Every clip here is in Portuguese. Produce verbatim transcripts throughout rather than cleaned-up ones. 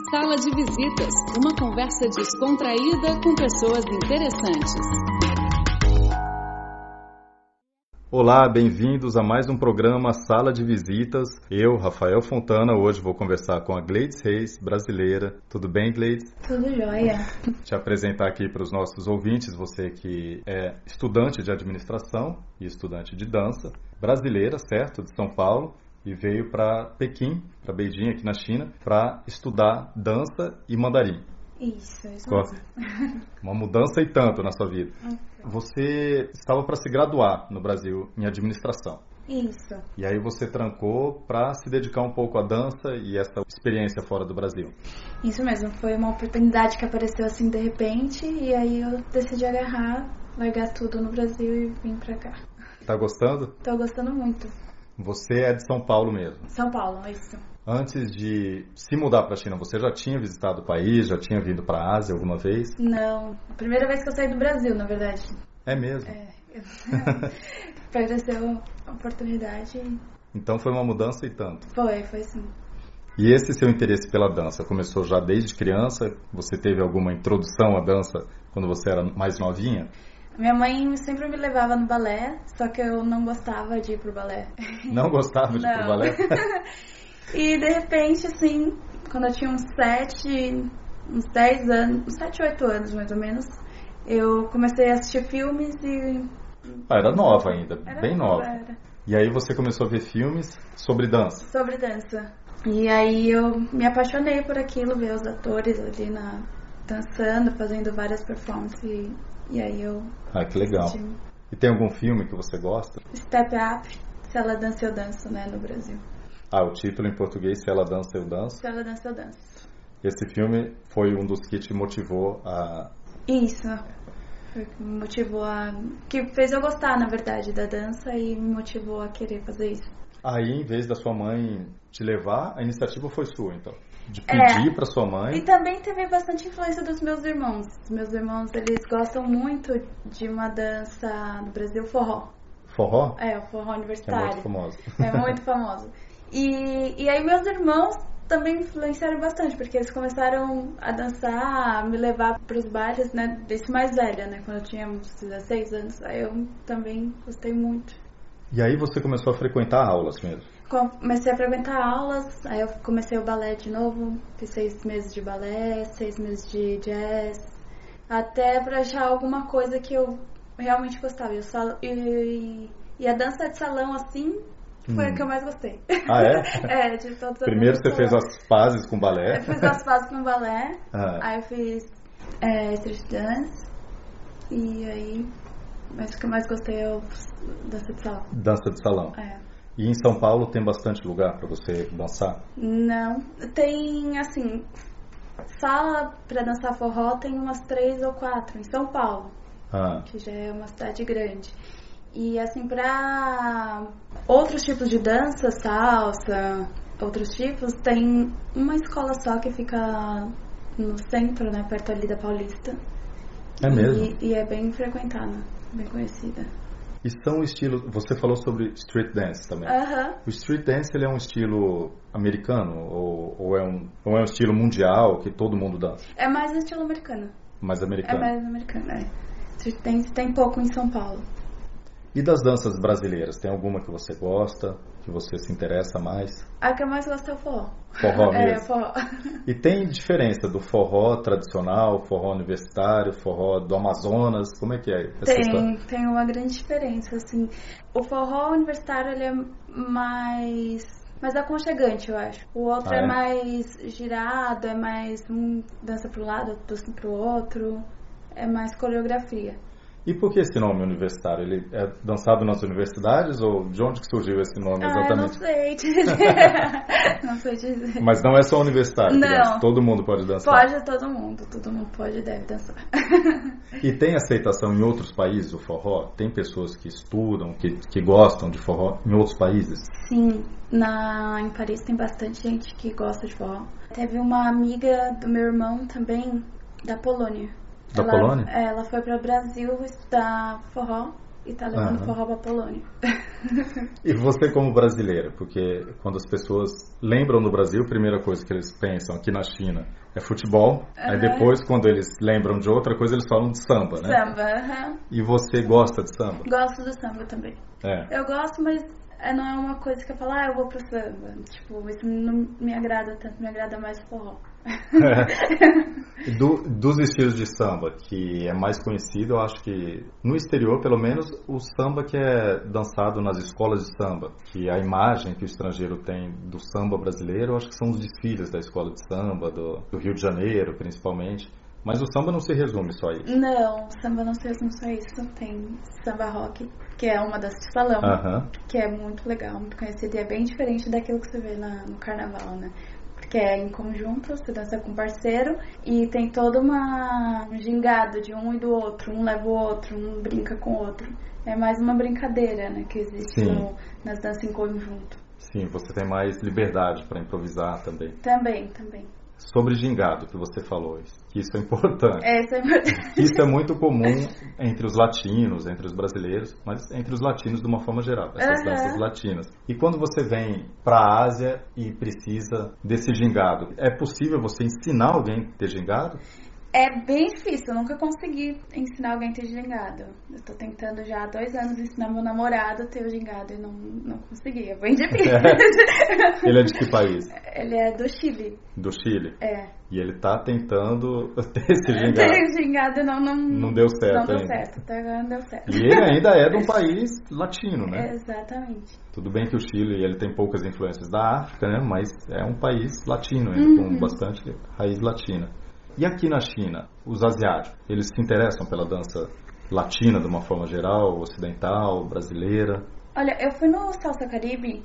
Sala de Visitas, uma conversa descontraída com pessoas interessantes. Olá, bem-vindos a mais um programa Sala de Visitas. Eu, Rafael Fontana, hoje vou conversar com a Gleides Reis, brasileira. Tudo bem, Gleides? Tudo jóia. Te apresentar aqui para os nossos ouvintes, você que é estudante de administração e estudante de dança, brasileira, certo, de São Paulo, e veio para Pequim, para Beijing, aqui na China, para estudar dança e mandarim. Isso, isso Gosta? mesmo. Uma mudança e tanto na sua vida. Okay. Você estava para se graduar no Brasil em administração. Isso. E aí você trancou para se dedicar um pouco à dança e essa experiência fora do Brasil. Isso mesmo, foi uma oportunidade que apareceu assim de repente e aí eu decidi agarrar, largar tudo no Brasil e vim pra cá. Tá gostando? Tô gostando muito. Você é de São Paulo mesmo? São Paulo, isso. Antes de se mudar para a China, você já tinha visitado o país? Já tinha vindo para a Ásia alguma vez? Não, a primeira vez que eu saí do Brasil, na verdade. É mesmo? É, eu... apareceu a oportunidade. Então foi uma mudança e tanto? Foi, foi sim. E esse seu interesse pela dança começou já desde criança? Você teve alguma introdução à dança quando você era mais novinha? Minha mãe sempre me levava no balé, só que eu não gostava de ir pro balé. Não gostava de não. ir pro balé? E de repente, assim, quando eu tinha uns sete, uns dez anos, uns sete, oito anos mais ou menos, eu comecei a assistir filmes e... Ah, era nova ainda, era bem nova. Era. E aí você começou a ver filmes sobre dança? Sobre dança. E aí eu me apaixonei por aquilo, ver os atores ali na, dançando, fazendo várias performances e, e aí eu... Ah, que legal. assisti. E tem algum filme que você gosta? Step Up, Se Ela Dança Eu Danço, né, no Brasil. Ah, o título em português, Se Ela Dança Eu Danço. Se Ela Dança Eu Danço. Esse filme foi um dos que te motivou a... Isso. Foi o que me motivou a... que fez eu gostar, na verdade, da dança e me motivou a querer fazer isso. Aí, em vez da sua mãe te levar, a iniciativa foi sua, então? De pedir é. para sua mãe... E também teve bastante influência dos meus irmãos. Os meus irmãos, eles gostam muito de uma dança no Brasil, forró. Forró? É, o forró universitário. É muito famoso. É muito famoso. E, e aí meus irmãos também influenciaram bastante, porque eles começaram a dançar, a me levar para os bailes, né, desse mais velha, né, quando eu tinha uns dezesseis anos. Aí eu também gostei muito. E aí você começou a frequentar aulas mesmo? Comecei a frequentar aulas, aí eu comecei o balé de novo, fiz seis meses de balé, seis meses de jazz, até para achar alguma coisa que eu realmente gostava. Eu só, e, e a dança de salão, assim, foi hum. a que eu mais gostei. Ah, é? É, de todas as Primeiro você fez as pazes com balé? Eu fiz as pazes com balé, ah. aí eu fiz é, street dance, e aí, mas o que eu mais gostei é o dança de salão. Dança de salão. É. E em São Paulo tem bastante lugar para você dançar? Não, tem assim, sala para dançar forró tem umas três ou quatro em São Paulo, ah. que já é uma cidade grande. E assim, para outros tipos de dança, salsa, outros tipos, tem uma escola só que fica no centro, né, perto ali da Paulista. É e, mesmo? E é bem frequentada, bem conhecida. E são estilos... Você falou sobre street dance também. Uh-huh. O street dance, ele é um estilo americano ou, ou, é um, ou é um estilo mundial que todo mundo dança? É mais um estilo americano. Mais americano. É mais americano, é. Street dance tem pouco em São Paulo. E das danças brasileiras, tem alguma que você gosta, que você se interessa mais? A que eu mais gosto é o forró. Forró mesmo? É, forró. E tem diferença do forró tradicional, forró universitário, forró do Amazonas? Como é que é essa Tem, história? tem uma grande diferença, assim. O forró universitário, ele é mais... mais aconchegante, eu acho. O outro ah, é? é mais girado, é mais... um dança pro lado, outro pro outro. É mais coreografia. E por que esse nome universitário? Ele é dançado nas universidades ou de onde que surgiu esse nome exatamente? Ah, eu não sei dizer. Não sei dizer. Mas não é só universitário, não. Dança. Todo mundo pode dançar? Pode, todo mundo. Todo mundo pode e deve dançar. E tem aceitação em outros países o forró? Tem pessoas que estudam, que, que gostam de forró em outros países? Sim. Na, em Paris tem bastante gente que gosta de forró. Teve uma amiga do meu irmão também, da Polônia. Da ela, Polônia? Ela foi para o Brasil estudar forró e tá levando Aham. forró pra Polônia. E você como brasileira, porque quando as pessoas lembram do Brasil, a primeira coisa que eles pensam aqui na China é futebol, aí Aham. depois quando eles lembram de outra coisa eles falam de samba, né? Samba, aham. E você gosta de samba? Gosto do samba também. É. Eu gosto, mas é, não é uma coisa que eu falo, ah, eu vou pro samba. Tipo, isso não me agrada tanto, me agrada mais forró. Do, dos estilos de samba que é mais conhecido, eu acho que no exterior, pelo menos, o samba que é dançado nas escolas de samba, que a imagem que o estrangeiro tem do samba brasileiro, eu acho que são os desfiles da escola de samba, do, do Rio de Janeiro, principalmente. Mas o samba não se resume só a isso. Não, samba não se resume só a isso. Tem samba rock, que é uma das de salão, Aham. que é muito legal, muito conhecido e é bem diferente daquilo que você vê na, no carnaval, né? Porque é em conjunto, você dança com parceiro e tem toda uma um gingado de um e do outro, um leva o outro, um brinca com o outro. É mais uma brincadeira, né, que existe Sim. no, nas danças em conjunto. Sim, você tem mais liberdade para improvisar também. Também, também. Sobre gingado, que você falou, que isso é importante. É, isso é importante. Isso é muito comum entre os latinos, entre os brasileiros, mas entre os latinos de uma forma geral, essas Uhum. danças latinas. E quando você vem para a Ásia e precisa desse gingado, é possível você ensinar alguém a ter gingado? É bem difícil, eu nunca consegui ensinar alguém a ter gingado. Eu tô tentando já há dois anos ensinar meu namorado a ter o gingado e não, não consegui, é bem difícil. Ele é de que país? Ele é do Chile. Do Chile? É. E ele tá tentando ter esse Ter gingado. gingado não, não, Não deu certo Não deu ainda. certo, até agora não deu certo. E ele ainda é de um país latino, né? Exatamente. Tudo bem que o Chile ele tem poucas influências da África, né? Mas é um país latino ainda, Uhum. com bastante raiz latina. E aqui na China, os asiáticos, eles se interessam pela dança latina de uma forma geral, ocidental, brasileira? Olha, eu fui no Salsa Caribe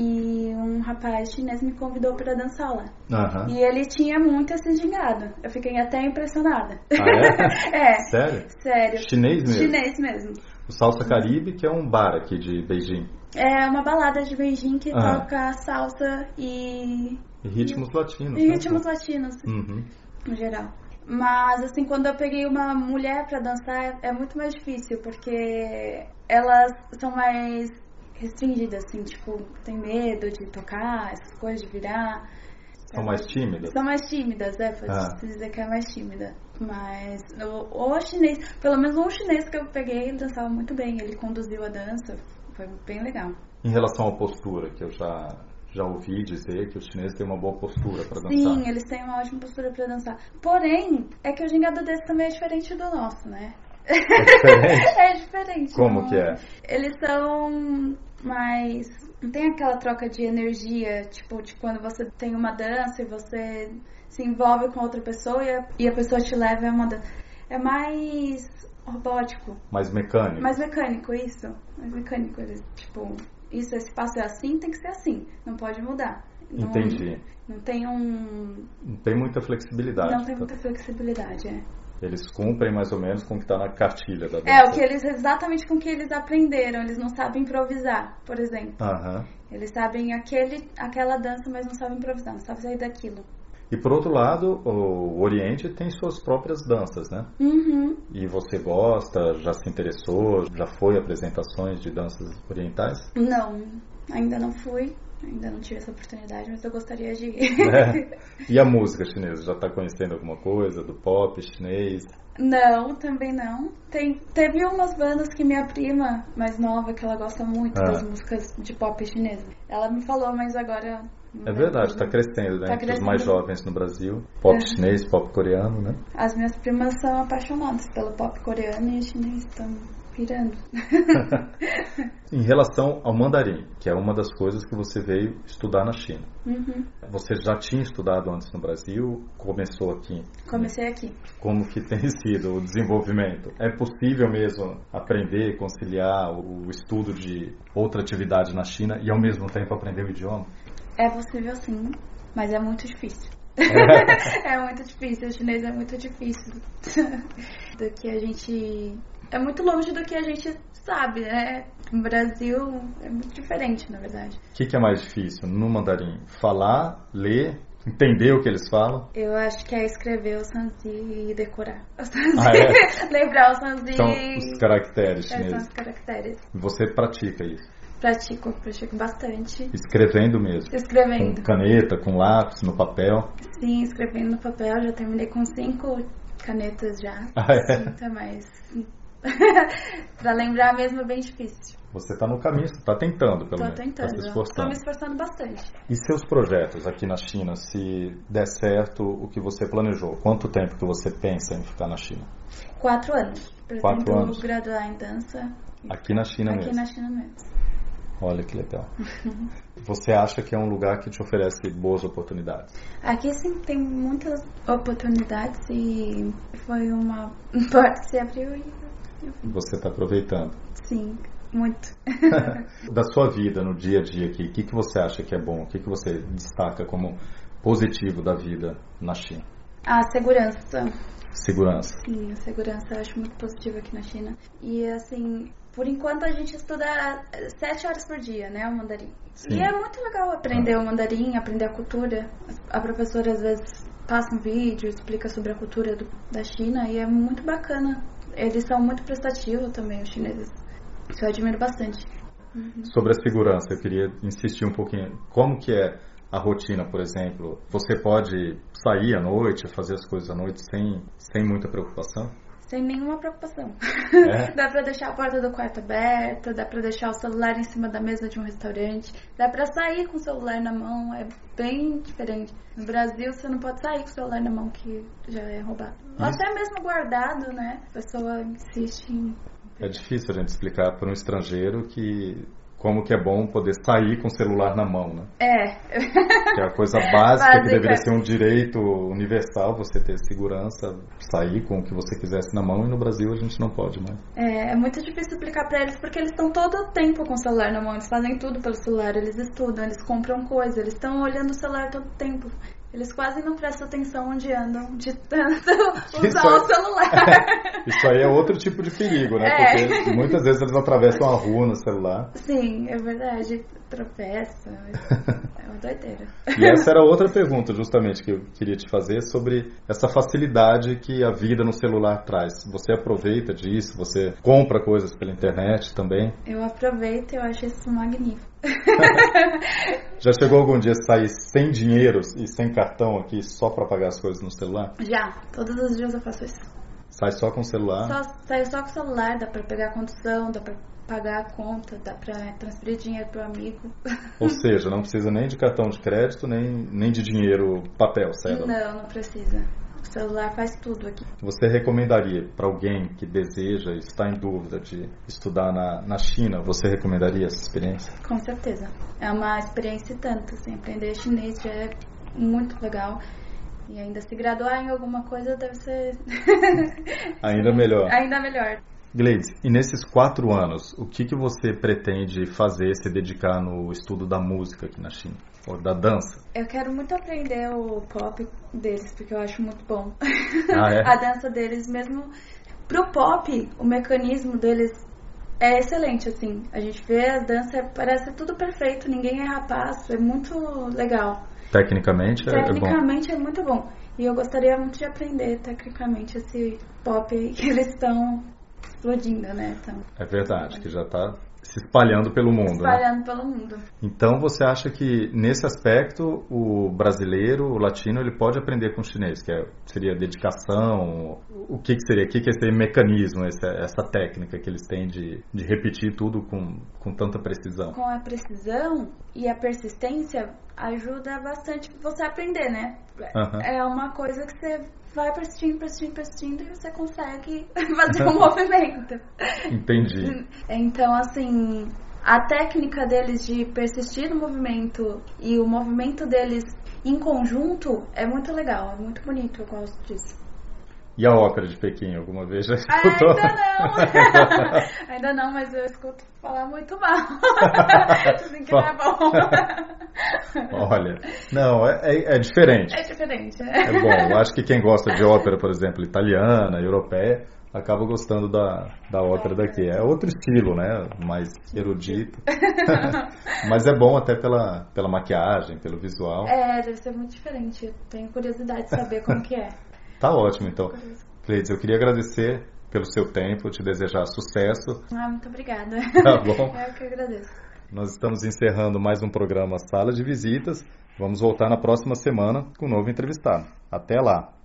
e um rapaz chinês me convidou para dançar lá. Aham. E ele tinha muito esse gingado. Eu fiquei até impressionada. Ah, é? É. Sério? Sério. Chinês mesmo? Chinês mesmo. O Salsa Caribe, que é um bar aqui de Beijing. É uma balada de Beijing que Ah. toca salsa e... E ritmos latinos. E né? ritmos latinos, Uhum. no geral. Mas, assim, quando eu peguei uma mulher pra dançar, é muito mais difícil, porque elas são mais restringidas, assim, tipo, tem medo de tocar, essas coisas, de virar. São mais tímidas? São mais tímidas, é, pode Ah. dizer que é mais tímida. Mas o, o chinês, pelo menos um chinês que eu peguei, ele dançava muito bem, ele conduziu a dança, foi bem legal. Em relação à postura, que eu já, já ouvi dizer que os chineses têm uma boa postura para dançar. Sim, eles têm uma ótima postura pra dançar. Porém, é que o gingado deles também é diferente do nosso, né? É diferente? É diferente. Como não- que é? Eles são mais... Não tem aquela troca de energia, tipo, de quando você tem uma dança e você se envolve com outra pessoa e a, e a pessoa te leva a uma dança. É mais robótico, Mais mecânico? mais mecânico, isso. Mais mecânico. Eles, tipo, isso, esse passo é assim, tem que ser assim. Não pode mudar. Não, Entendi. Não tem um... Não tem muita flexibilidade. Não tem tá? muita flexibilidade, é. Eles cumprem mais ou menos com o que está na cartilha da dança. É, o que eles, exatamente com o que eles aprenderam. Eles não sabem improvisar, por exemplo. Aham. Eles sabem aquele, aquela dança, mas não sabem improvisar, não sabem sair daquilo. E por outro lado, o Oriente tem suas próprias danças, né? Uhum. E você gosta, já se interessou, já foi a apresentações de danças orientais? Não, ainda não fui, ainda não tive essa oportunidade, mas eu gostaria de ir. É. E a música chinesa? Já está conhecendo alguma coisa do pop chinês? Não, também não. Tem, teve umas bandas que minha prima mais nova, que ela gosta muito Ah. das músicas de pop chinesa. Ela me falou, mas agora... não É lembro. verdade, está crescendo, né? Tá Entre crescendo. os mais jovens no Brasil. Pop É. chinês, pop coreano, né? As minhas primas são apaixonadas pelo pop coreano e o chinês estão pirando. Em relação ao mandarim, que é uma das coisas que você veio estudar na China. Uhum. Você já tinha estudado antes no Brasil? Começou aqui? Comecei aqui. Como que tem sido o desenvolvimento? É possível mesmo aprender, conciliar o estudo de outra atividade na China e ao mesmo tempo aprender o idioma? É possível sim, mas é muito difícil. É muito difícil, o chinês é muito difícil. Do que a gente... É muito longe do que a gente sabe, né? No Brasil é muito diferente, na verdade. O que, que é mais difícil no mandarim? Falar, ler entender o que eles falam? Eu acho que é escrever o Sanzi e decorar. O Sanzi. Ah, é? Lembrar o Sanzi. São os caracteres É, chineses. são os caracteres. Você pratica isso? Pratico, pratico bastante. Escrevendo mesmo? Escrevendo. Com caneta, com lápis, no papel? Sim, escrevendo no papel. Já terminei com cinco canetas já. Ah, é? Cinta, mas... pra lembrar mesmo é bem difícil. Você está no caminho, você está tentando, pelo Tô menos. tentando. Tá se Tô esforçando. me esforçando bastante. E seus projetos aqui na China, se der certo o que você planejou? Quanto tempo que você pensa em ficar na China? Quatro anos. Quatro Pretendo anos. graduar em dança. Aqui na China Aqui mesmo? na China mesmo. Olha que legal. Você acha que é um lugar que te oferece boas oportunidades? Aqui sim tem muitas oportunidades e foi uma porta que se abriu e eu vim. Você está aproveitando. Sim, muito. Da sua vida no dia a dia aqui, o que, que você acha que é bom? O que, que você destaca como positivo da vida na China? A segurança. Segurança. Sim, a segurança eu acho muito positiva aqui na China. E assim, por enquanto a gente estuda sete horas por dia, né, o mandarim. Sim. E é muito legal aprender ah. o mandarim, aprender a cultura. A professora às vezes passa um vídeo, explica sobre a cultura do, da China e é muito bacana. Eles são muito prestativos também, os chineses. Isso eu admiro bastante. Uhum. Sobre a segurança, eu queria insistir um pouquinho. Como que é a rotina, por exemplo? Você pode sair à noite, fazer as coisas à noite sem, sem muita preocupação? Sem nenhuma preocupação. É? Dá pra deixar a porta do quarto aberta, dá pra deixar o celular em cima da mesa de um restaurante, dá pra sair com o celular na mão, é bem diferente. No Brasil você não pode sair com o celular na mão que já é roubado. Ou até mesmo guardado, né? A pessoa insiste em... É difícil a gente explicar para um estrangeiro que como que é bom poder sair com o celular na mão, né? É. Que é a coisa básica, Básica. que deveria ser um direito universal, você ter segurança, sair com o que você quisesse na mão, e no Brasil a gente não pode mais. É, é muito difícil explicar pra eles, porque eles estão todo o tempo com o celular na mão, eles fazem tudo pelo celular, eles estudam, eles compram coisas, eles estão olhando o celular todo o tempo. Eles quase não prestam atenção onde andam, de tanto usar Isso é- o celular. Isso aí é outro tipo de perigo, né? É. Porque muitas vezes eles atravessam a rua no celular. Sim, é verdade. Tropeça. É uma doideira. E essa era outra pergunta, justamente, que eu queria te fazer, sobre essa facilidade que a vida no celular traz. Você aproveita disso? Você compra coisas pela internet também? Eu aproveito e eu acho isso magnífico. Já chegou algum dia a sair sem dinheiro e sem cartão aqui só para pagar as coisas no celular? Já, todos os dias eu faço isso. Sai só com o celular? Só, saio só com o celular, dá pra pegar a condução, dá pra pagar a conta, dá pra transferir dinheiro pro amigo. Ou seja, não precisa nem de cartão de crédito, nem, nem de dinheiro papel, certo? Não, não precisa. O celular faz tudo aqui. Você recomendaria para alguém que deseja, está em dúvida de estudar na, na China, você recomendaria essa experiência? Com certeza. É uma experiência e tanto, assim, aprender chinês já é muito legal. E ainda se graduar em alguma coisa deve ser... Ainda melhor. Ainda melhor. Gleides, e nesses quatro anos, o que, que você pretende fazer, se dedicar no estudo da música aqui na China? Ou da dança? Eu quero muito aprender o pop deles, porque eu acho muito bom. Ah, é? A dança deles mesmo. Pro pop, o mecanismo deles é excelente, assim. A gente vê a dança, parece tudo perfeito, ninguém é rapaz, é muito legal. Tecnicamente é, Tecnicamente é bom. é muito bom. E eu gostaria muito de aprender tecnicamente esse pop aí que eles estão explodindo, né? Então, É verdade, que já está se espalhando pelo mundo, né? espalhando pelo mundo. Então você acha que nesse aspecto o brasileiro, o latino, ele pode aprender com o chinês, que é, seria dedicação, o que, que seria, o que, que é esse mecanismo, essa, essa técnica que eles têm de, de repetir tudo com, com tanta precisão? Com a precisão e a persistência ajuda bastante você a aprender, né? Uhum. É uma coisa que você vai persistindo, persistindo, persistindo e você consegue fazer um movimento. Entendi. Então, assim, a técnica deles de persistir no movimento e o movimento deles em conjunto é muito legal, é muito bonito, eu gosto disso. E a ópera de Pequim, alguma vez já escutou? Ainda não! Ainda não, mas eu escuto falar muito mal. Assim que não é bom. Olha, não, é, é, é diferente. É diferente. É bom, eu acho que quem gosta de ópera, por exemplo, italiana, europeia, acaba gostando da, da ópera daqui. É outro estilo, né? Mais erudito. Mas é bom até pela, pela maquiagem, pelo visual. É, deve ser muito diferente. Eu tenho curiosidade de saber como que é. Tá ótimo, então. Cleides, eu queria agradecer pelo seu tempo, te desejar sucesso. Ah, muito obrigada. Tá bom. Eu que agradeço. Nós estamos encerrando mais um programa Sala de Visitas. Vamos voltar na próxima semana com um novo entrevistado. Até lá!